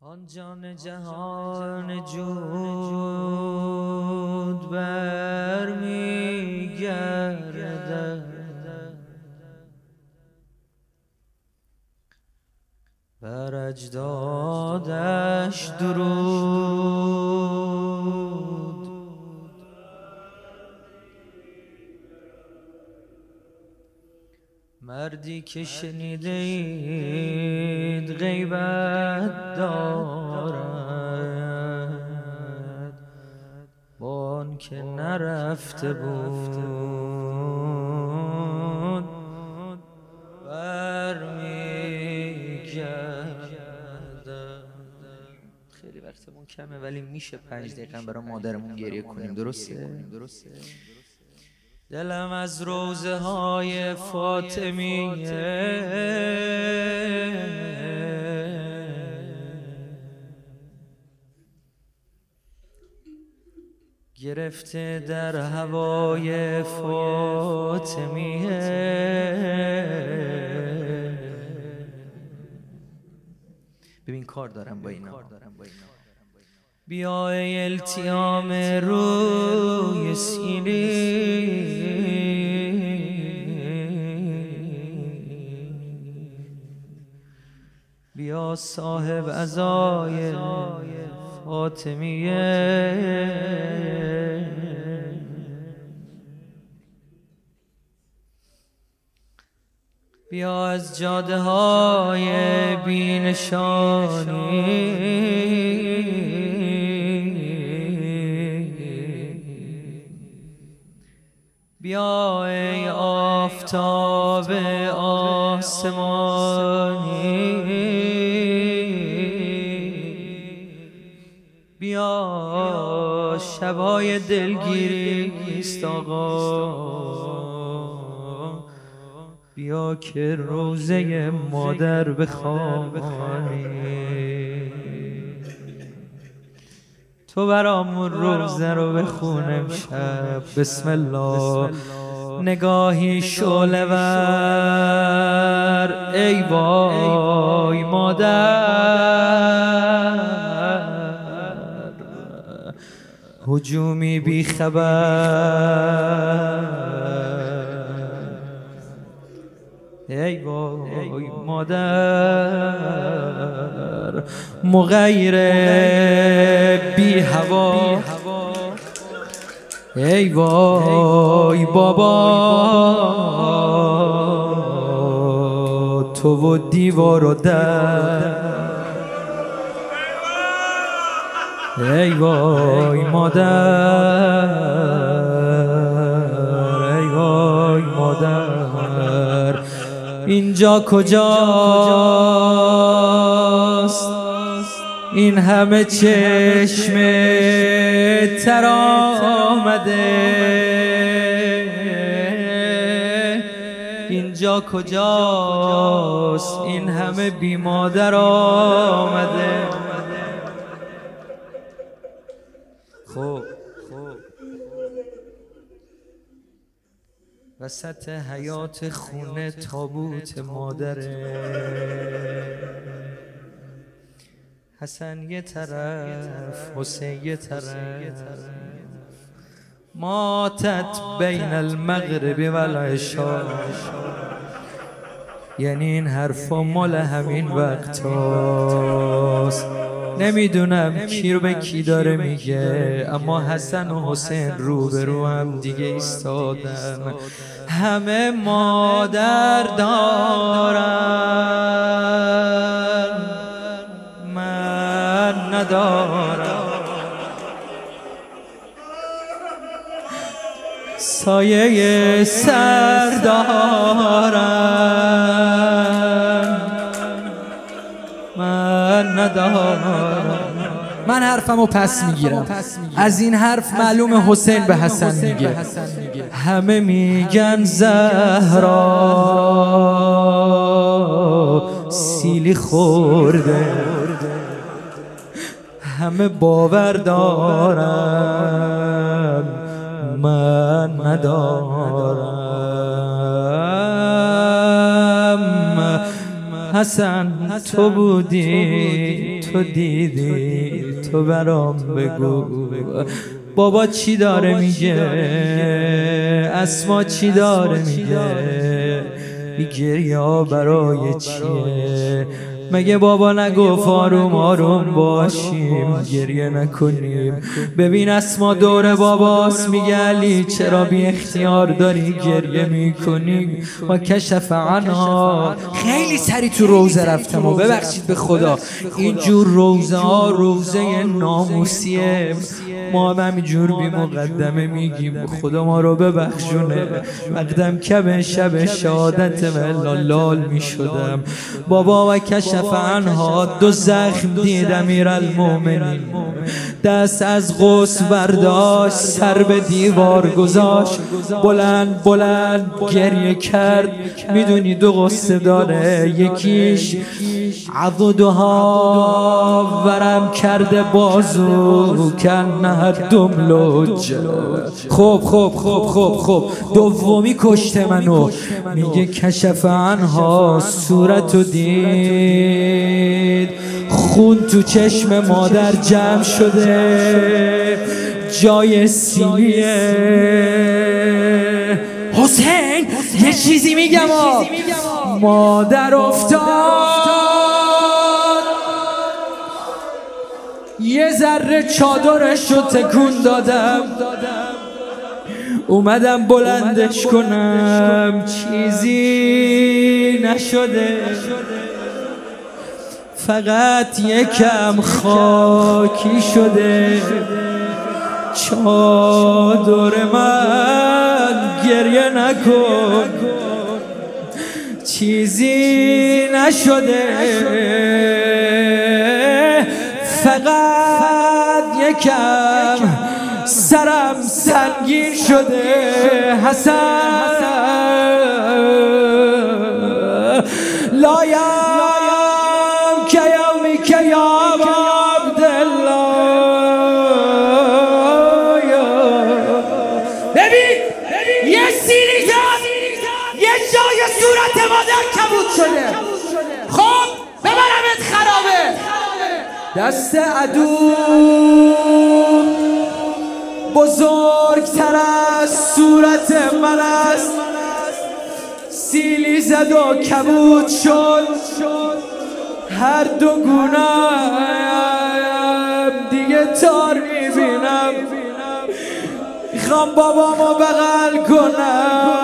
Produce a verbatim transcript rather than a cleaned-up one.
آن جان جهان جود بر می گردد بر اجدادش درود. مردی که شنیده اید غیبت دارد با آن که نرفته بود برمیگردد. خیلی وقتمون کمه ولی میشه پنج دقیقه برای مادرمون گریه کنیم، درسته؟ دلم از روزه های فاطمیه گرفته در هوای فاطمیه. ببین کار دارم با اینا. بیا ای التیام روی سینه بیا صاحب عزای فاطمیه. بیا از جاده های بینشانی بیا ای آفتاب آسمانی بیا شبای دلگیریست آقا بیا که روزه مادر بخوانی. تو برامون روزه رو بخون امشب. بسم الله. نگاهی شعله ور ای وای مادر هجومی بی خبر ای وای مادر مغیر بی هوا ای وای بابا تو و دیوار و در ای وای مادر ای وای مادر اینجا کجاست این همه چشم تر آمده اینجا کجاست این همه بی مادر آمده. خب وسط حیات خونه تابوت مادره حسن یه طرف حسین یه طرف ماتت بین المغرب و العشاء یعنی این حرفا مال همین وقت هاست. نمیدونم کی رو به کی داره میگه اما حسن و حسین رو به رو هم دیگه ایستادن. همه مادر دارن من ندارم سایه سر دارن من ندارم. من حرفمو پس میگیرم. از این حرف معلوم حسین به حسن میگه همه میگن زهرا سیلی خورده همه باور دارم من ندارم. حسن تو بودی، تو دیدی، تو برام بگو بابا چی داره میگه، اسما چی داره میگه، بی گریه برای چیه؟ مگه بابا نگفت آروم آروم باشیم گریه نکنیم؟ ببین اسما دور باباست میگه علی چرا بی اختیار داری گریه میکنی؟ و کشف عنها. خیلی سری تو روزه رفتم و ببخشید به خدا اینجور روزه ها روزه ناموسیه، ما هم همینجور بی مقدمه میگیم خدا ما رو ببخشونه. مقدم کم شب شهادت لال میشدم بابا و کشف عنها. دو زخم دید امیرالمومنین، دست از غسل برداشت سر به دیوار گذاشت، بلند بلند گریه کرد. میدونی دو قصه داره، یکیش عضدها ورم کرده بازو کنه دملج. خب خب خب خب خب دومی کشته منو. میگه کشف عنها صورتو دید، خون تو چشم مادر جمع شده جای سینیه. حسین یه چیزی میگم آه. مادر افتاد یه ذره چادرش رو تکون دادم، اومدم بلندش کنم چیزی نشده، فقط یکم خاکی شده چادر من، گریه نکن چیزی نشده، فقط یکم سرم سنگین شده. حسن لایم که یومی که یا عبدالله. ببین یه سیری زد یه جای صورت مادر کبود شده. خب ببرمت خرابه، دست عدو بزرگتر از صورت من است، سیلی زد و کبود شد. هر دو گونه‌ام دیگه تار میبینم، میخوام بابامو بغل کنم